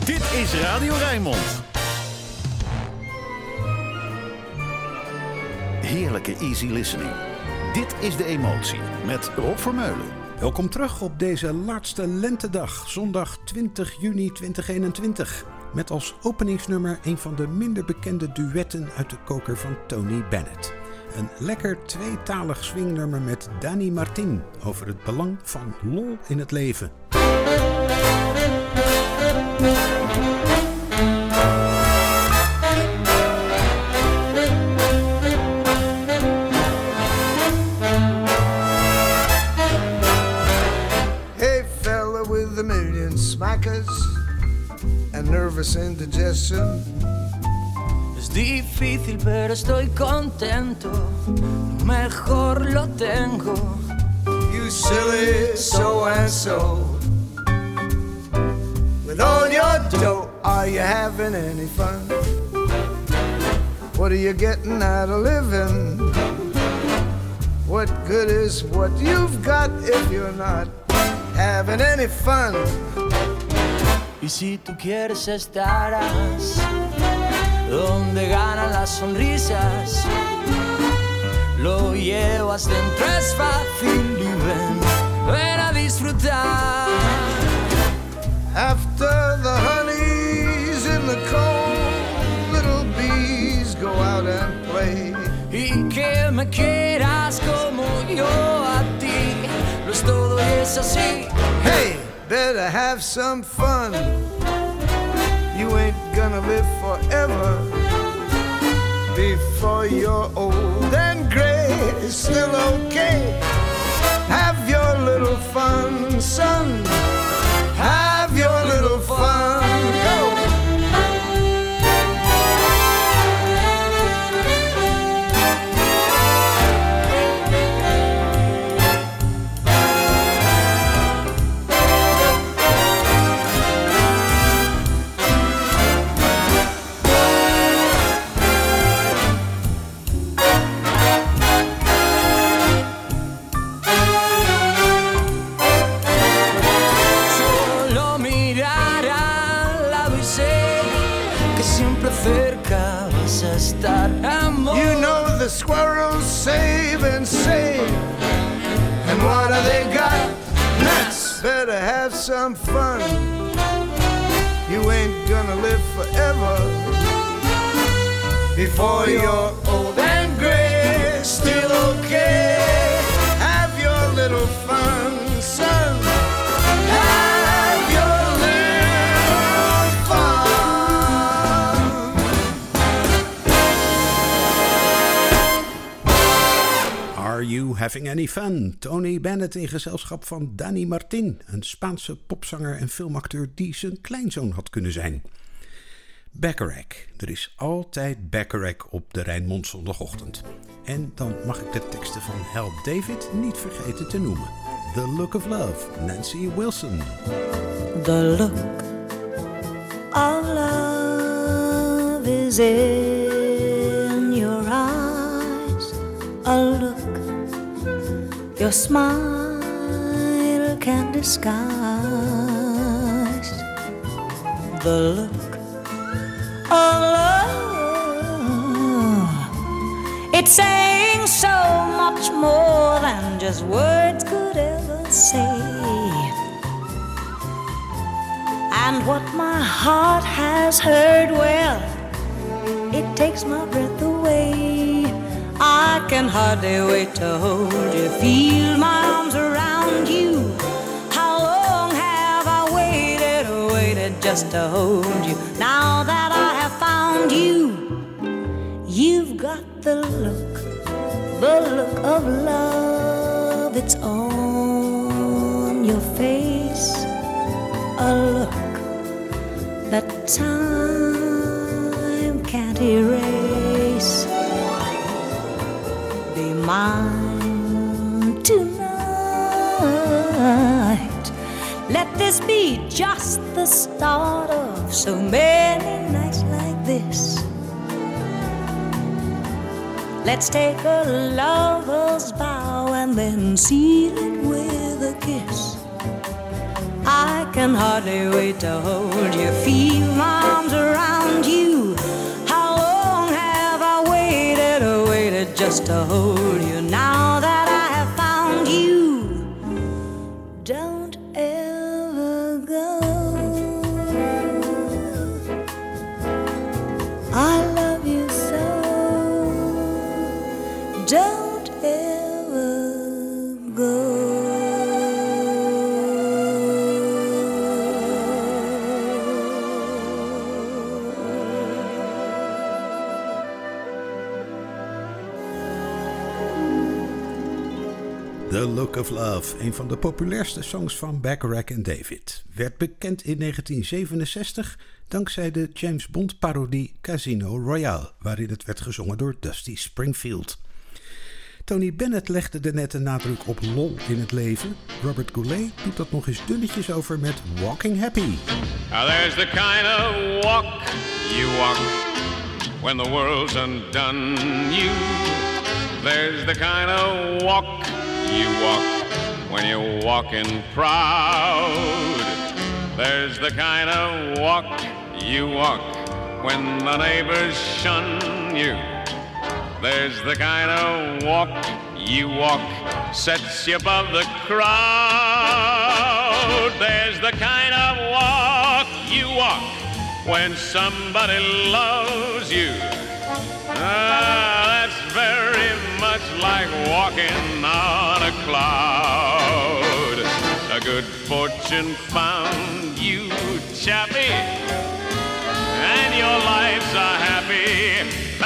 Dit is Radio Rijnmond. Heerlijke easy listening. Dit is De Emotie met Rob Vermeulen. Welkom terug op deze laatste lentedag, zondag 20 juni 2021. Met als openingsnummer een van de minder bekende duetten uit de koker van Tony Bennett. Een lekker tweetalig swingnummer met Dani Martin over het belang van lol in het leven. Hey fella with a million smackers and nervous indigestion. Es difícil pero estoy contento, lo mejor lo tengo. You silly so-and-so. With all your dough, are you having any fun? What are you getting out of living? What good is what you've got if you're not having any fun? Y si tú quieres estarás donde ganan las sonrisas, lo llevas dentro, es fácil y ven a disfrutar. After the honey's in the comb, little bees go out and play. Y que me quieras como yo a ti, lo es todo y es así. Hey, better have some fun. You ain't gonna live forever. Before you're old and gray, it's still okay. Have your little fun, son. Have your little fun. Go! Cerca vas a estar, amor. You know the squirrels save and save. And what do they got? Nuts. Better have some fun. You ain't gonna live forever. Before you're old and gray, still okay. Have your little fun, son. Have your little fun. Are You Having Any Fun? Tony Bennett in gezelschap van Dani Martin, een Spaanse popzanger en filmacteur die zijn kleinzoon had kunnen zijn. Bacharach. Er is altijd Bacharach op de Rijnmond zondagochtend. En dan mag ik de teksten van Help David niet vergeten te noemen. The Look of Love, Nancy Wilson. The look of love is in your eyes. A look your smile can disguise. The look of love, it's saying so much more than just words could ever say. And what my heart has heard, well, it takes my breath away. I can hardly wait to hold you, feel my arms around you. How long have I waited just to hold you? Now that I have found you, you've got the look of love. It's on your face, a look that time can't erase. Be mine tonight. Let this be just the start of so many nights like this. Let's take a lover's vow and then seal it with a kiss. I can hardly wait to hold you, feel my arms around you. How long have I waited just to hold you? Now that I have found you, don't ever go. I love you so, don't ever go. The Look of Love, een van de populairste songs van Bacharach en David, werd bekend in 1967 dankzij de James Bond parodie Casino Royale, waarin het werd gezongen door Dusty Springfield. Tony Bennett legde de nette nadruk op lol in het leven. Robert Goulet doet dat nog eens dunnetjes over met Walking Happy. Now there's the kind of walk you walk when the world's undone you. There's the kind of walk you walk when you're walking proud. There's the kind of walk you walk when the neighbors shun you. There's the kind of walk you walk sets you above the crowd. There's the kind of walk you walk when somebody loves you. That's very much like walking on a cloud. A good fortune found you, chappie, and your life's a happy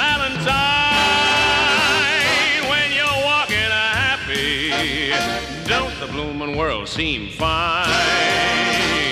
Valentine. When you're walking happy, don't the bloomin' world seem fine?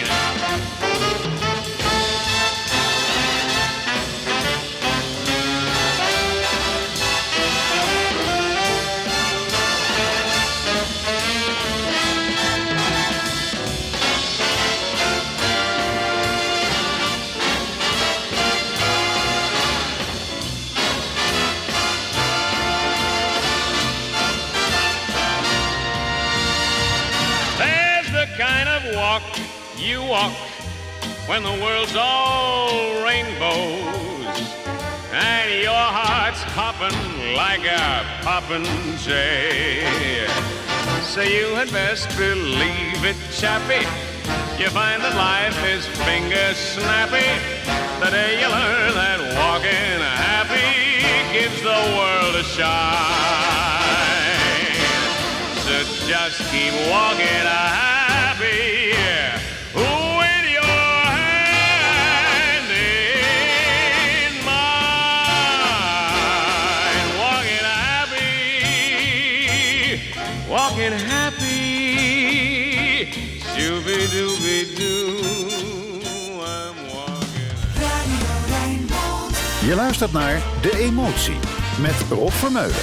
You walk when the world's all rainbows and your heart's hopping like a poppin' jay. So you had best believe it, chappie. You find that life is finger snappy the day you learn that walking happy gives the world a shine. So just keep walking happy. Walking happy, shooby-dooby-doo, I'm walking happy. Je luistert naar De Emotie met Rob Vermeulen.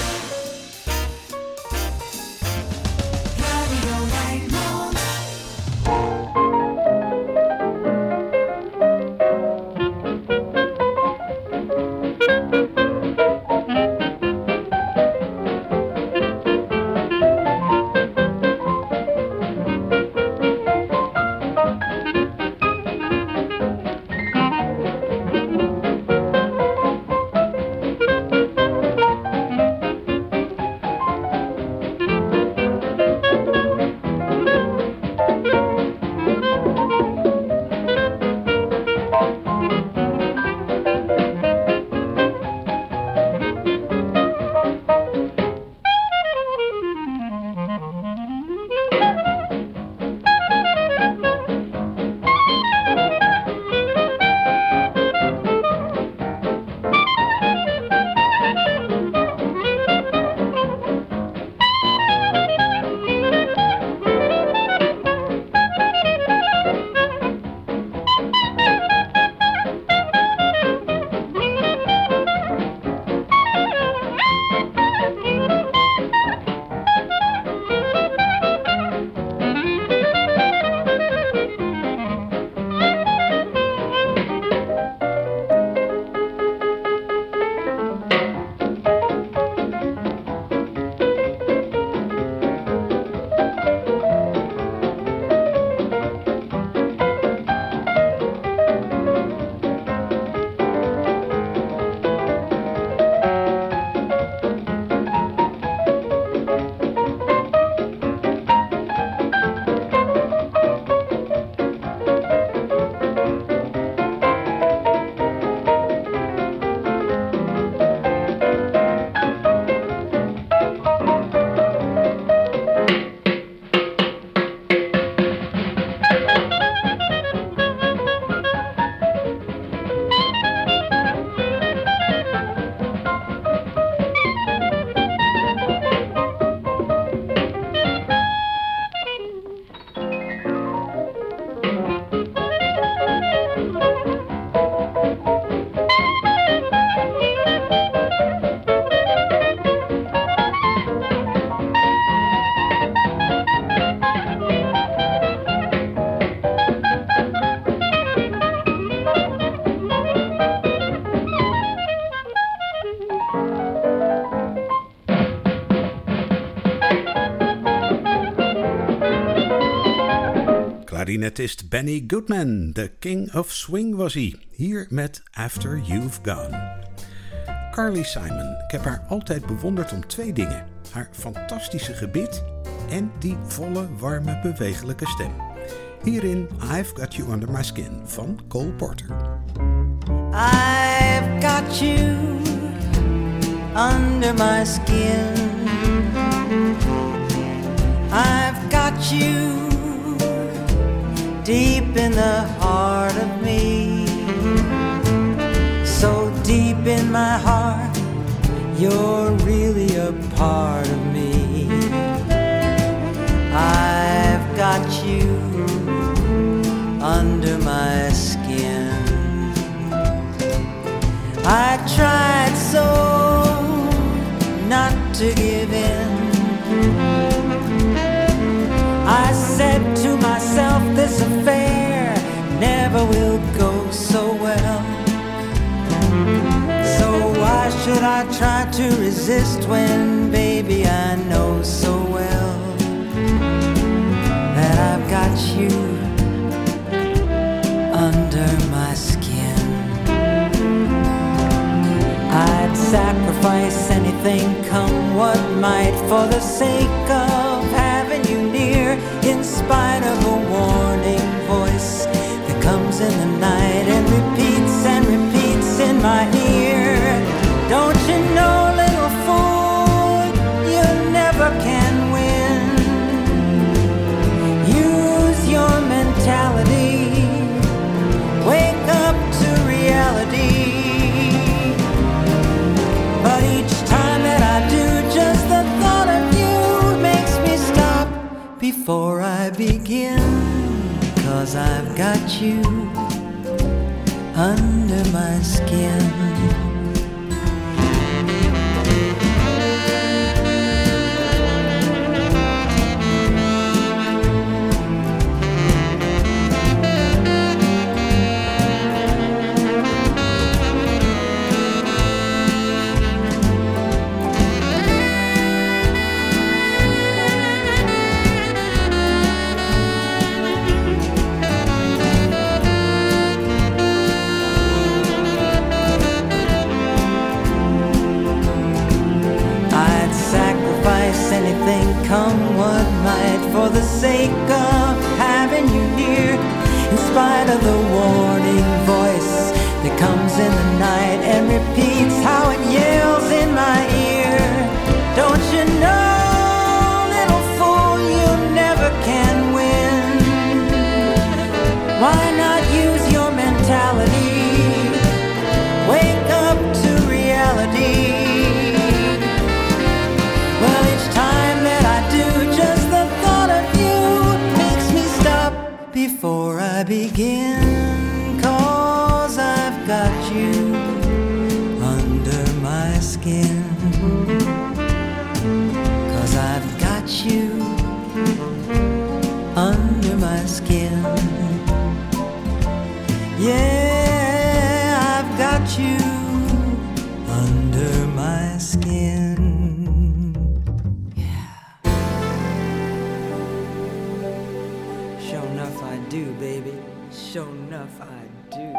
clarinetist Benny Goodman. De King of Swing was hij. Hier met After You've Gone. Carly Simon. Ik heb haar altijd bewonderd om 2 dingen. Haar fantastische gebit en die volle, warme, bewegelijke stem. Hierin I've Got You Under My Skin van Cole Porter. I've got you under my skin. I've got you deep in the heart of me. So deep in my heart, you're really a part of me. I've got you under my skin. I tried so not to give in. I said to myself, this affair never will go so well. So why should I try to resist when, baby, I know so well that I've got you under my skin. I'd sacrifice anything, come what might, for the sake of having you near, in spite of a warning voice that comes in the night and repeats in my ear. Don't you know, little fool, you never can win. Use your mentality, wake up to reality. But each time that I do, just the thought of you makes me stop before I begin. 'Cause I've got you under my skin. Anything, come what might, for the sake of having you near, in spite of the warning voice that comes in the night and repeats how it yells in my ear. Don't you know, little fool, you never can win. Why not use your mentality, wake up to reality. Well, each time that I do, just the thought of you makes me stop before I begin. 'Cause I've got you under my skin. 'Cause I've got you under my skin. Yeah, I've got you under my skin. Do, baby, sure enough I do.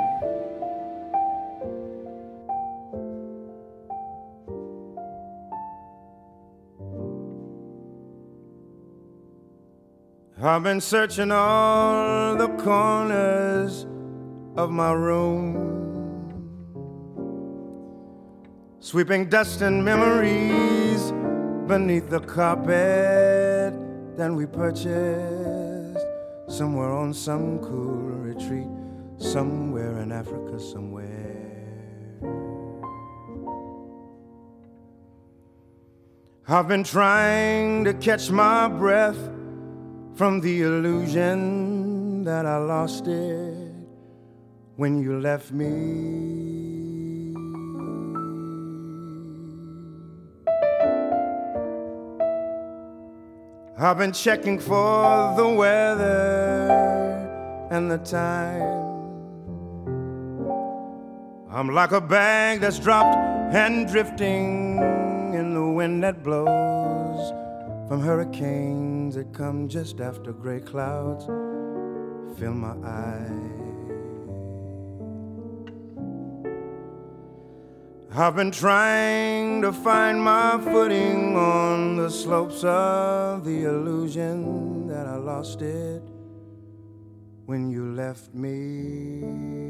I've been searching all the corners of my room, sweeping dust and memories beneath the carpet that we purchased somewhere on some cool retreat, somewhere in Africa, somewhere. I've been trying to catch my breath from the illusion that I lost it when you left me. I've been checking for the weather and the time. I'm like a bag that's dropped and drifting in the wind that blows from hurricanes that come just after gray clouds fill my eyes. I've been trying to find my footing on the slopes of the illusion that I lost it when you left me.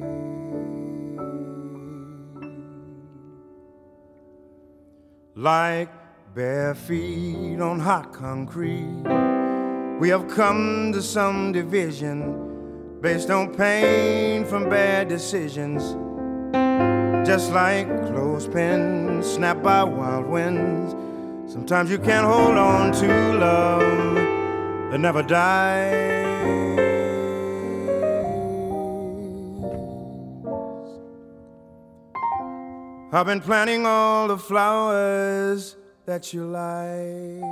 Like bare feet on hot concrete, we have come to some division based on pain from bad decisions. Just like clothespins snapped by wild winds, sometimes you can't hold on to love that never dies. I've been planting all the flowers that you like,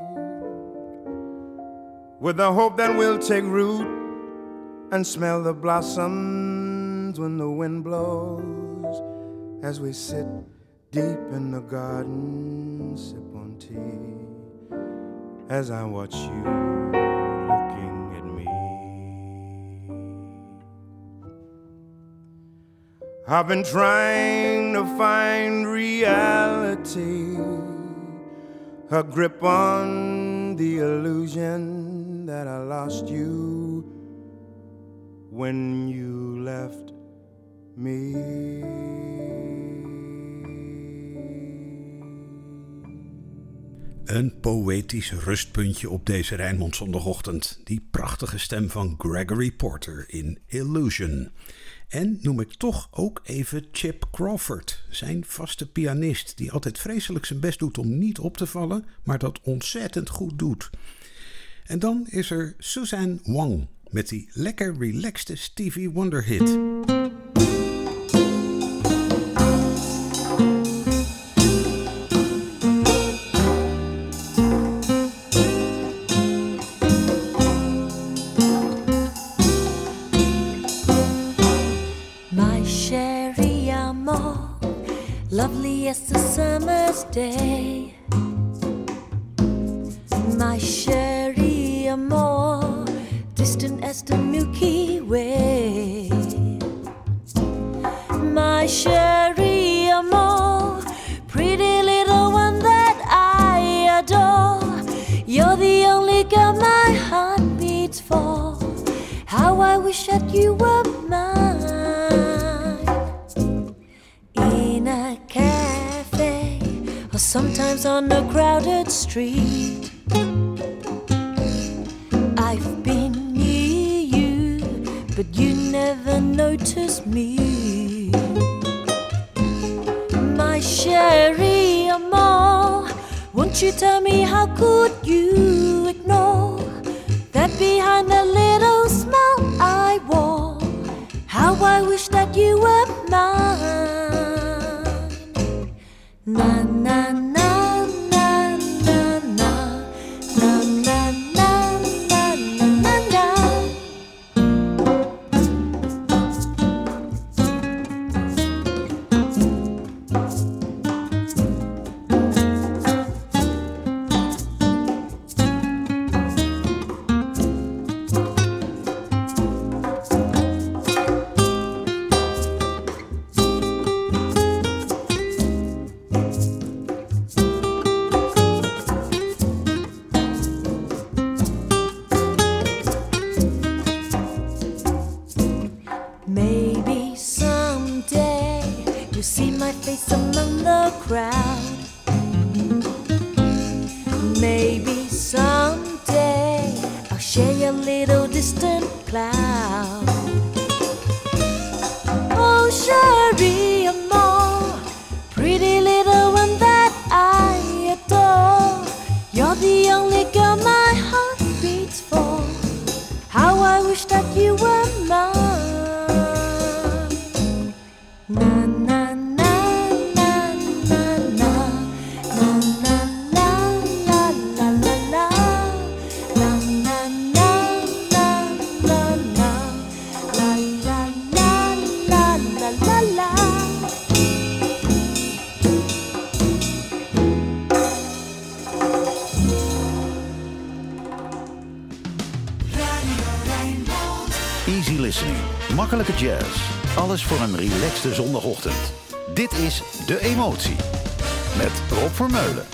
with the hope that we'll take root and smell the blossoms when the wind blows, as we sit deep in the garden, sip on tea, as I watch you looking at me. I've been trying to find reality, a grip on the illusion that I lost you when you left me. Een poëtisch rustpuntje op deze Rijnmond zondagochtend. Die prachtige stem van Gregory Porter in Illusion. En noem ik toch ook even Chip Crawford, zijn vaste pianist, die altijd vreselijk zijn best doet om niet op te vallen, maar dat ontzettend goed doet. En dan is er Suzanne Wang met die lekker relaxte Stevie Wonder hit. Lovely as the summer's day, my chérie amour, distant as the Milky Way. My chérie amour, pretty little one that I adore. You're the only girl my heart beats for. How I wish that you were mine. In a cafe, or sometimes on a crowded street, I've been near you, but you never noticed me. My chérie amour, won't you tell me how could you ignore that behind the little smile I wore? How I wish that you were mine. Na na na na na na na na na na na. Maybe someday you'll see my face among the crowd. Maybe someday I'll share your little distant cloud. Oh, chérie amour, pretty little one that I adore. You're the only girl my heart beats for. How I wish that you were mine. Na na na na na na. Makkelijke jazz. Alles voor een relaxte zondagochtend. Dit is De Emotie. Met Rob Vermeulen.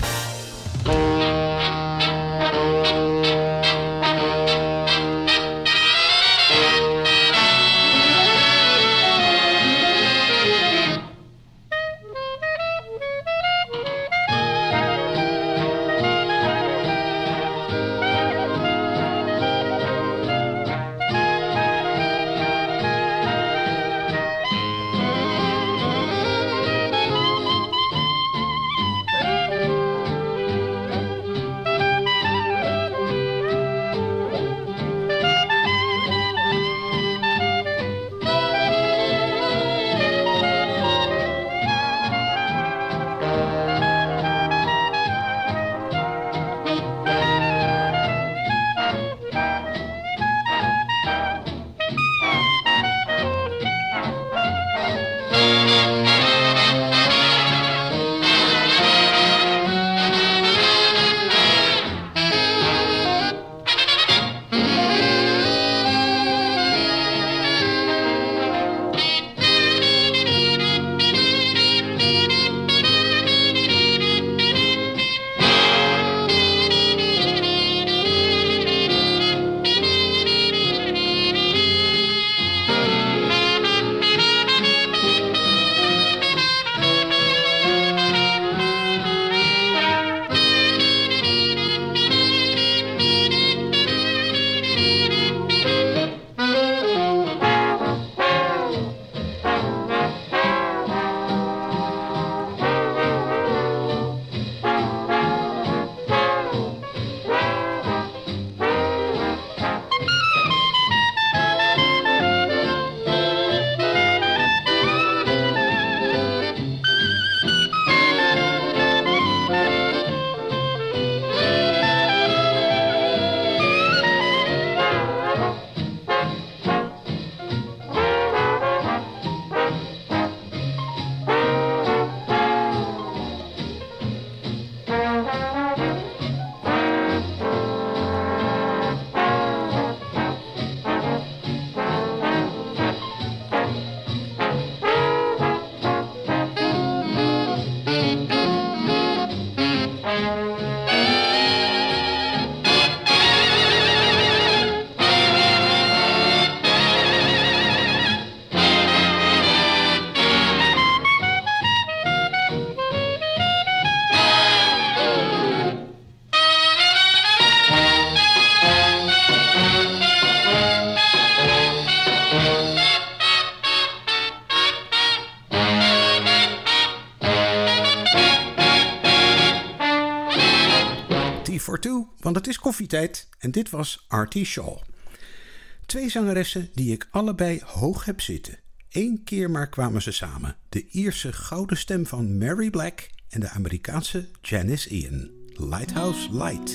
Want het is koffietijd en dit was Artie Shaw. 2 zangeressen die ik allebei hoog heb zitten. 1 keer maar kwamen ze samen. De Ierse gouden stem van Mary Black en de Amerikaanse Janis Ian. Lighthouse Light.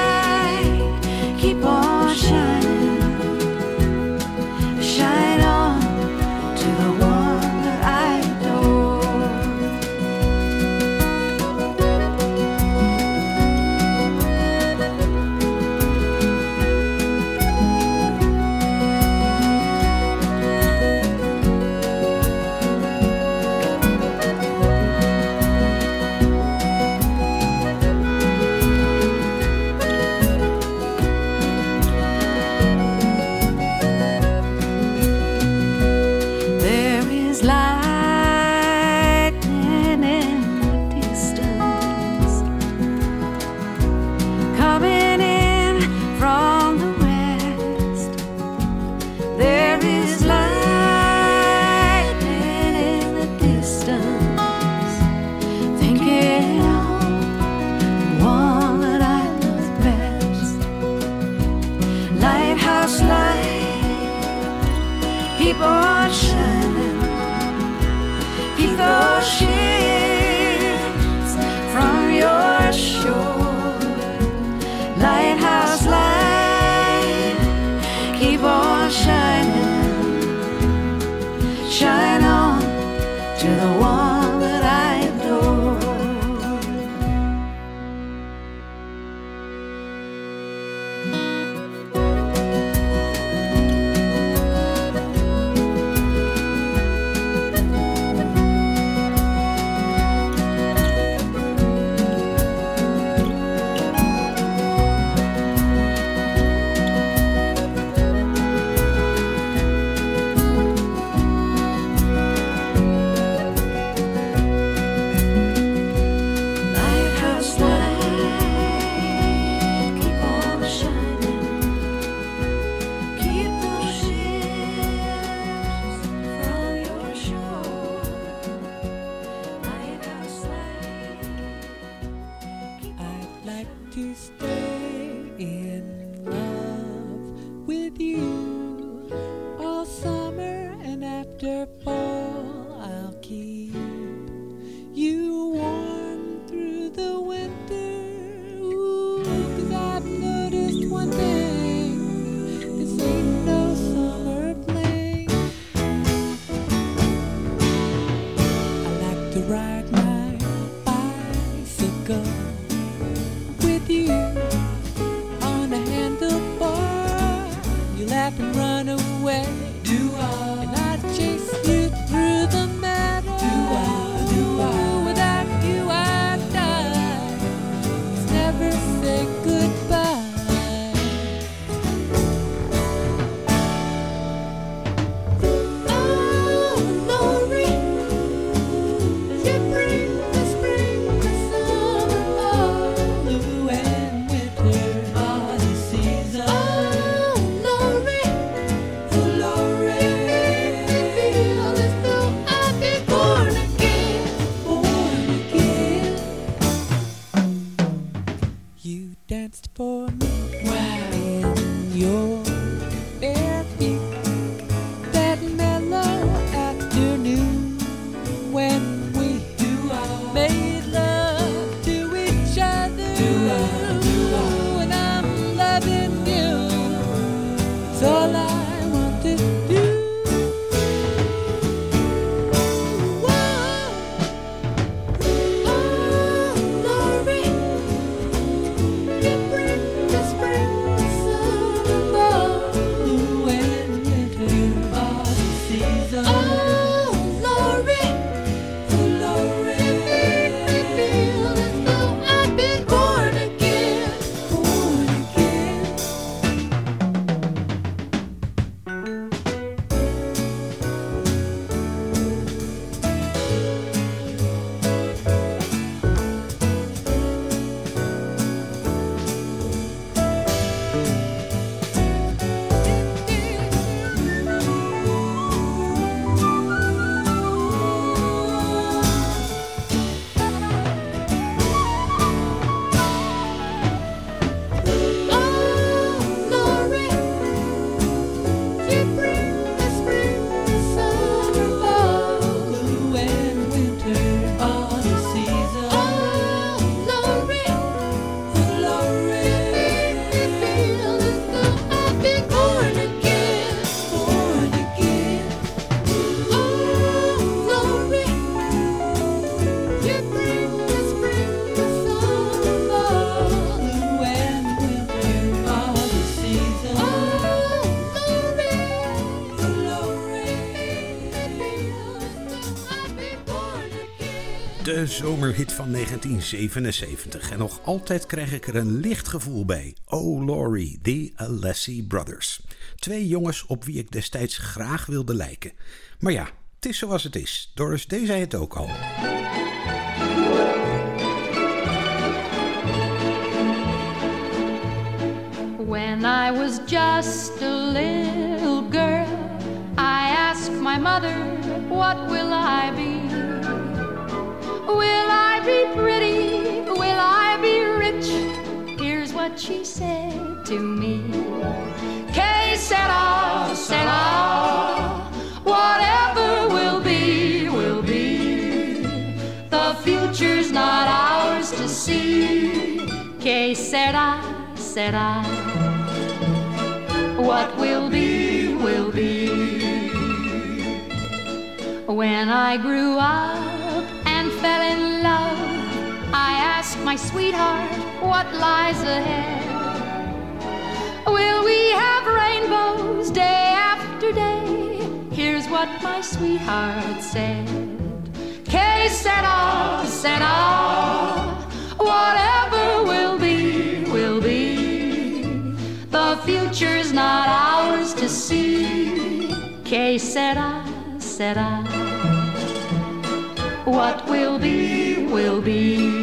Shine on. is lightning in the distance, coming in from the west. There is lightning in the distance, thinking of the one that I love best. Lighthouse light, keep on shining, keep those ships from your shore. Lighthouse light, keep on shining, shine on to the one that I adore. Lighthouse light, keep on shining, keep those ships from your shore. Lighthouse light, keep on I'd like to stay in love with you all summer, and after fall I'll keep you warm through the winter. Ooh, 'cause I've noticed one thing, this ain't no summer fling. I like to ride my bicycle with you on a handlebar. You laugh and run away. Do I? And I chase you through the meadow. Do I? Do I? Without you I die. Let's never say goodbye. Oh, Lori, you bring the spring, the summer, fall, blue and winter, all the season. Oh, Lori, feel as though I've been born again, born again. You danced for me in your bare feet that mellow afternoon when we made love to each other. And I'm loving you, it's all I want to do. Whoa. Oh, Lori, you bring the spring, the summer, fall, blue and winter, all the season. Oh, Lori, feel as though I've been born again, born again. De zomerhit van 1977. En nog altijd krijg ik er een licht gevoel bij. Oh Lori, the Alessi Brothers. 2 jongens op wie ik destijds graag wilde lijken. Maar ja, het is zoals het is. Doris Day zei het ook al. When I was just a little girl, I asked my mother, what will I be? Will I be pretty? Will I be rich? Here's what she said to me. Que sera, sera, whatever will be, will be. The future's not ours to see. Que sera, sera, what will be, will be. When I grew up and fell in love, I asked my sweetheart, what lies ahead? Will we have rainbows day after day? Here's what my sweetheart said. Que sera, sera, whatever will be, will be. The future's not ours to see. Que sera, sera, what will be, will be.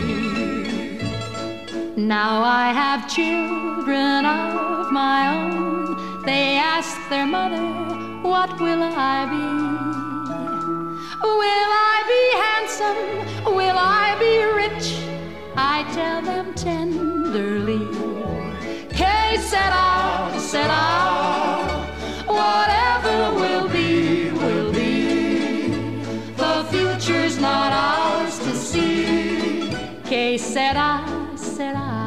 Now I have children of my own. They ask their mother, what will I be? Will I be handsome? Will I be rich? I tell them tenderly. Que sera, sera, whatever will be, will be. The future's not ours to see. Que sera, sera,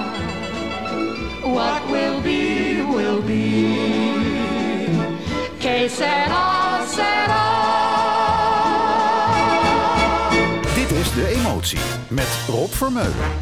what will be, will be. Que sera, sera. Dit is De Emotie met Rob Vermeulen.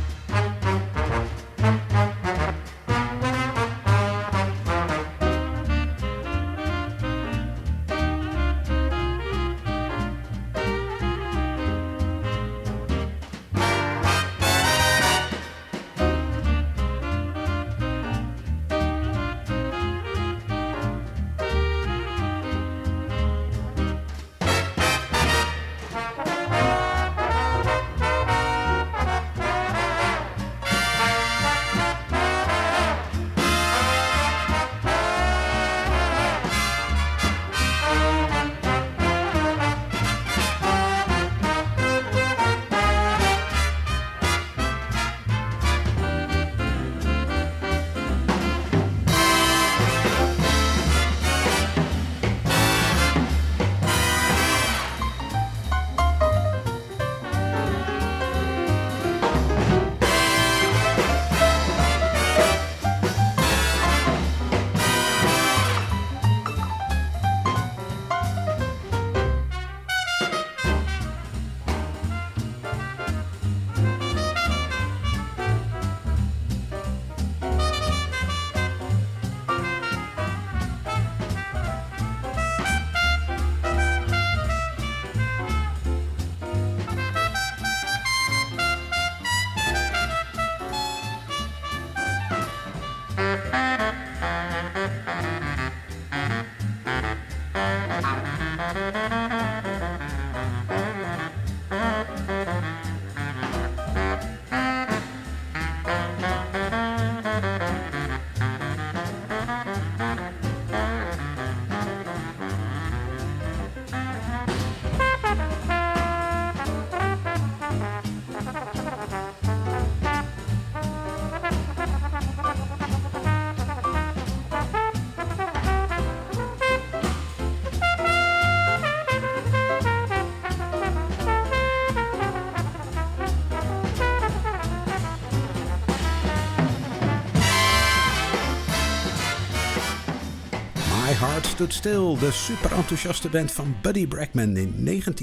Heart Stood Still, de super enthousiaste band van Buddy Bregman in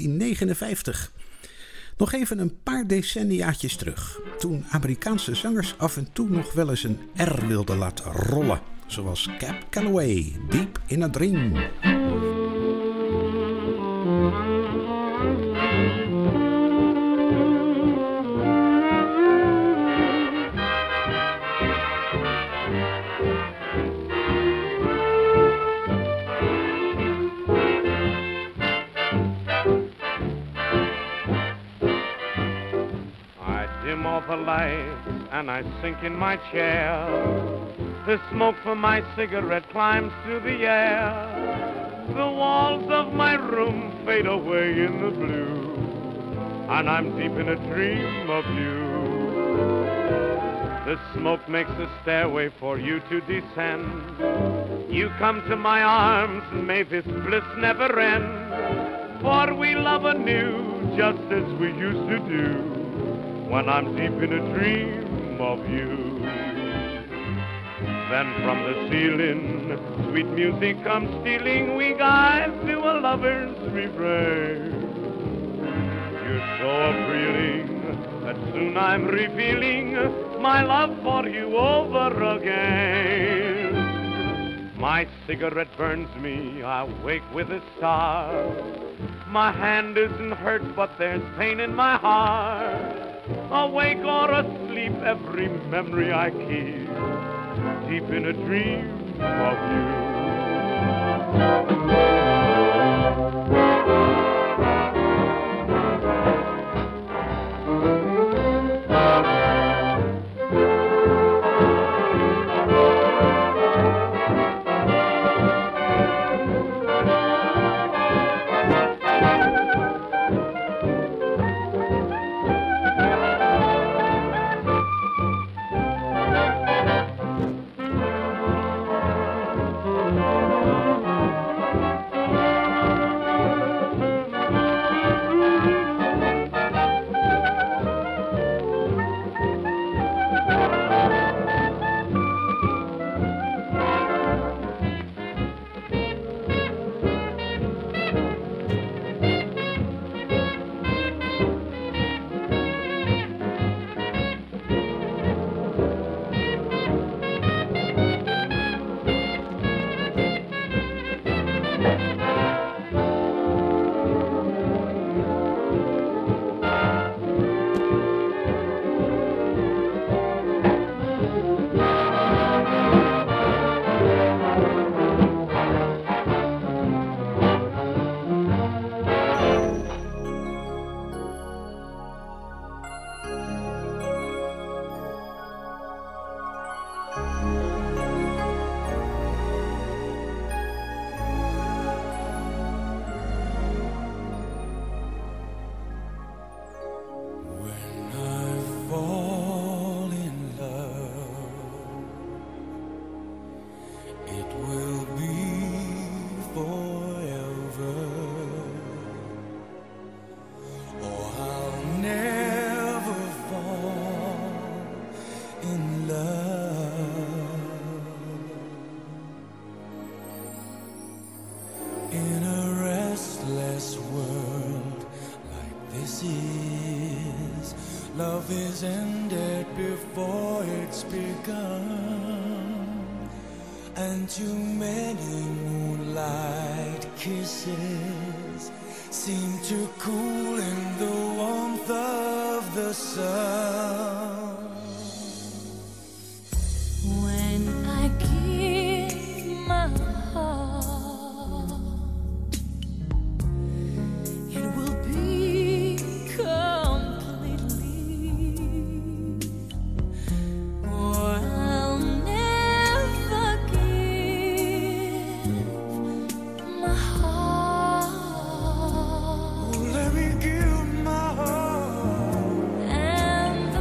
1959. Nog even een paar decenniaatjes terug, toen Amerikaanse zangers af en toe nog wel eens een R wilden laten rollen, zoals Cab Calloway, Deep in a Dream. dim all the lights and I sink in my chair. The smoke from my cigarette climbs through the air. The walls of my room fade away in the blue, and I'm deep in a dream of you. The smoke makes a stairway for you to descend. You come to my arms, and may this bliss never end. For we love anew, just as we used to do, when I'm deep in a dream of you. Then from the ceiling, sweet music comes stealing. We guide to a lover's refrain. You're so appealing that soon I'm revealing my love for you over again. My cigarette burns me, I wake with a start. My hand isn't hurt, but there's pain in my heart. Awake or asleep, every memory I keep, deep in a dream of you. Love is ended before it's begun, and too many moonlight kisses seem to cool in the warmth of the sun. When I give my heart, it will be completely, or I'll never give my heart. Let me give my heart, And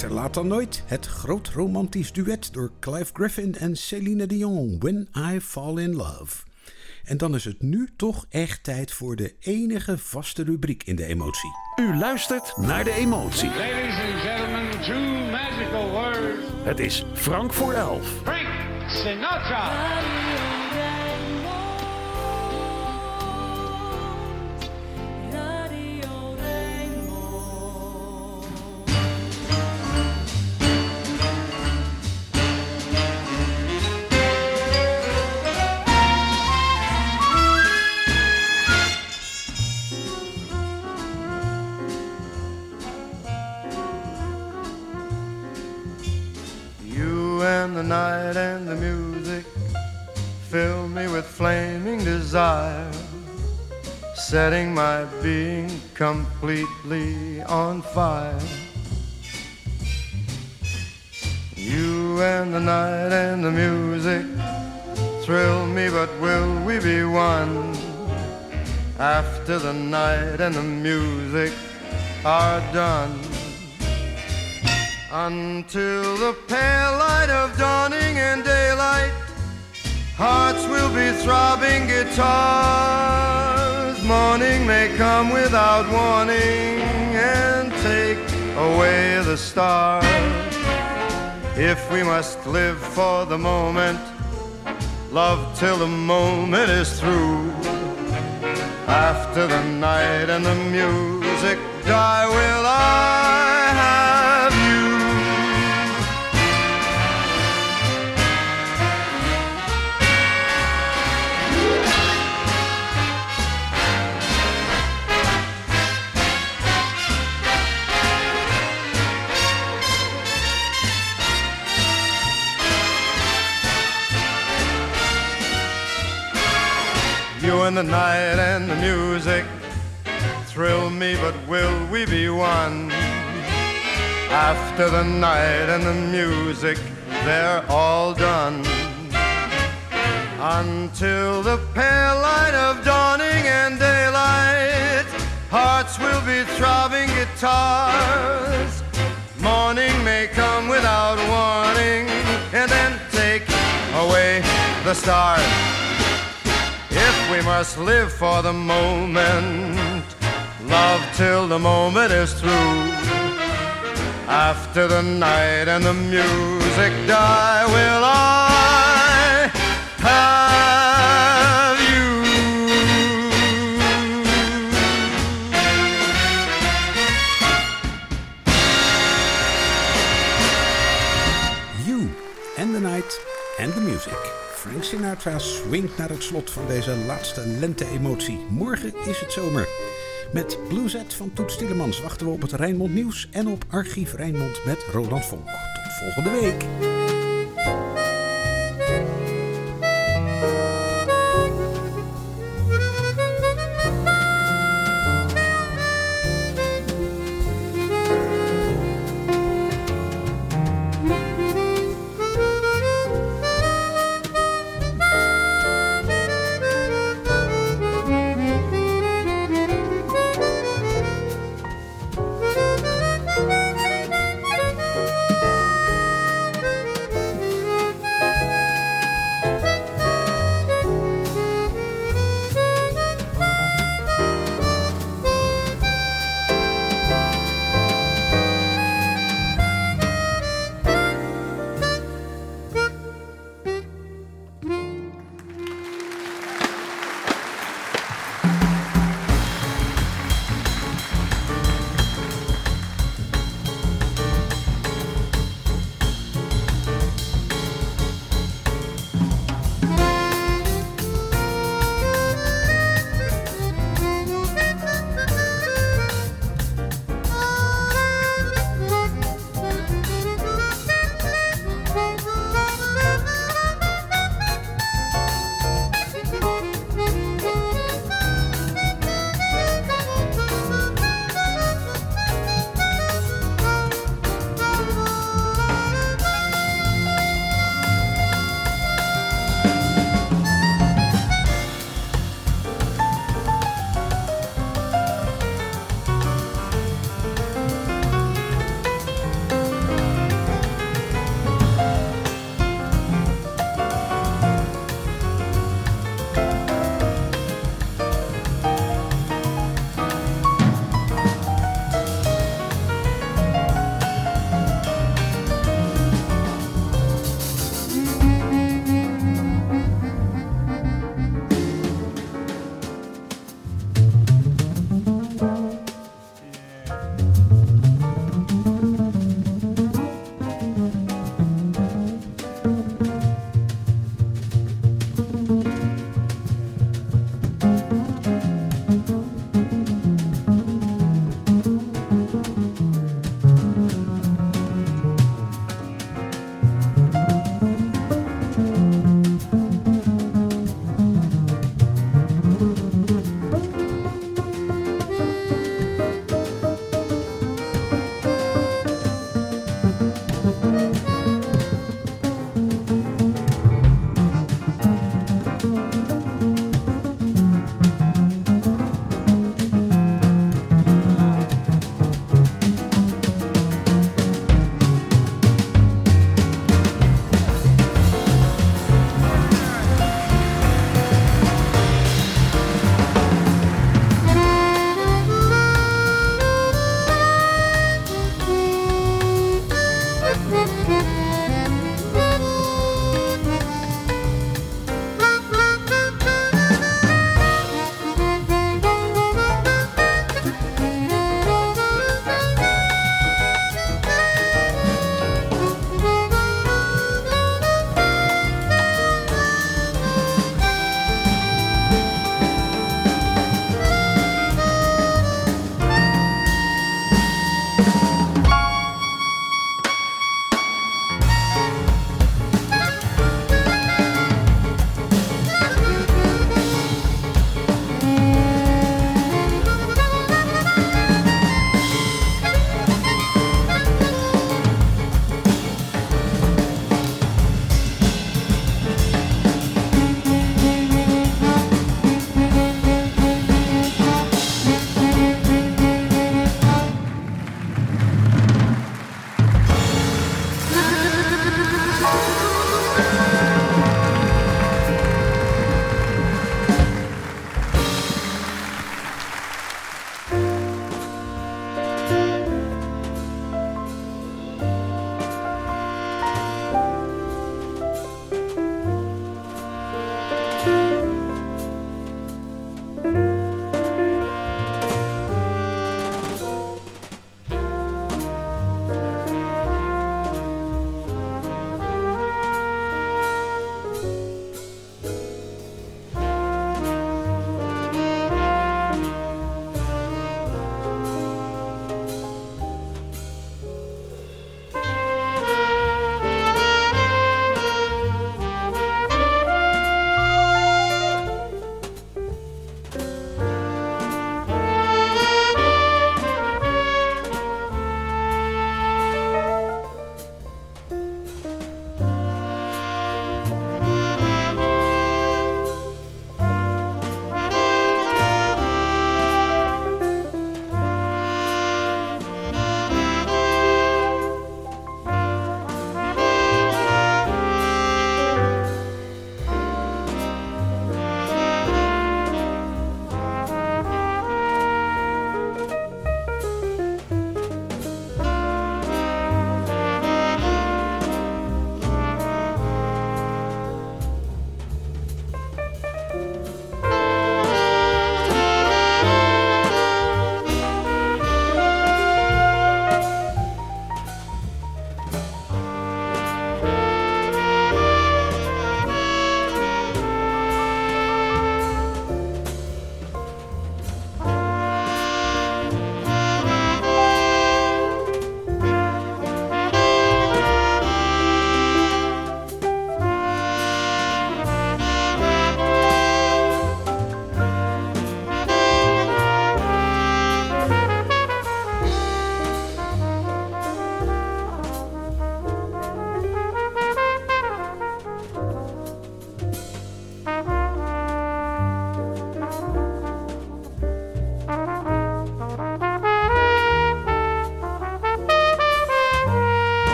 Beter laat dan nooit. Het groot romantisch duet door Clive Griffin en Celine Dion, When I Fall in Love. En dan is het nu toch echt tijd voor de enige vaste rubriek in de emotie. U luistert naar de emotie. Ladies and gentlemen, two magical words. Het is Frank voor 11. Frank Sinatra. And the night and the music fill me with flaming desire, setting my being completely on fire. You and the night and the music thrill me, but will we be one after the night and the music are done? Until the pale light of dawning and daylight, hearts will be throbbing guitars. Morning may come without warning and take away the stars. If we must live for the moment, love till the moment is through. After the night and the music die, will I have you? You and the night and the music thrill me, but will we be one? After the night and the music, they're all done. Until the pale light of dawning and daylight, hearts will be throbbing guitars. Morning may come without warning and then take away the stars. If we must live for the moment, love till the moment is through. After the night and the music die, will I have you? You and the night and the music. Frank Sinatra swingt naar het slot van deze laatste lente-emotie. Morgen is het zomer. Met Blueset van Toet Stielemans wachten we op het Rijnmond Nieuws en op Archief Rijnmond met Roland Vonk. Tot volgende week.